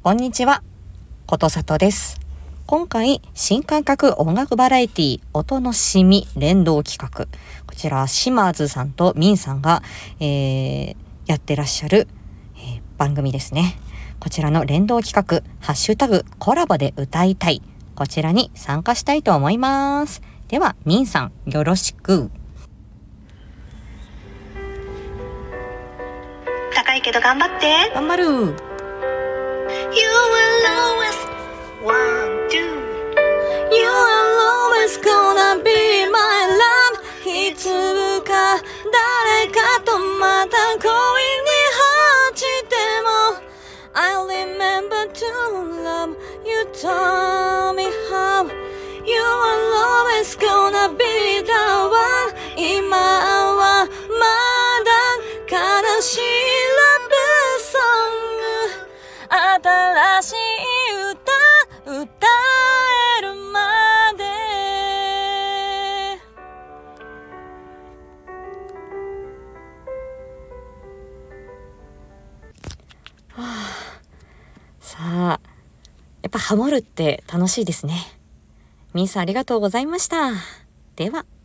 こんにちは、ことさとです。今回新感覚音楽バラエティ音のしみ連動企画、こちら島津さんとみんさんが、やってらっしゃる、番組ですね。こちらの連動企画ハッシュタグコラボで歌いたい、こちらに参加したいと思います。ではみんさんよろしく。 高いけど頑張って。 頑張る。 You will always want to. You are always gonna be my love. いつか誰かとまた恋に落ちても I'll remember to love you. Tell me how. You are always gonna be the one. 今はまだ悲しいラブソング、新しい歌歌えるまで。さあ、やっぱハモるって楽しいですね。みんさんありがとうございました。では。